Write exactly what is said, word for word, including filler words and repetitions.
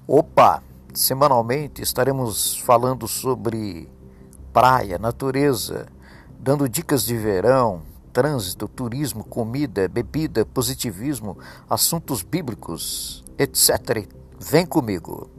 Opa! Semanalmente estaremos falando sobre praia, natureza, dando dicas de verão, trânsito, turismo, comida, bebida, positivismo, assuntos bíblicos, etcétera. Vem comigo!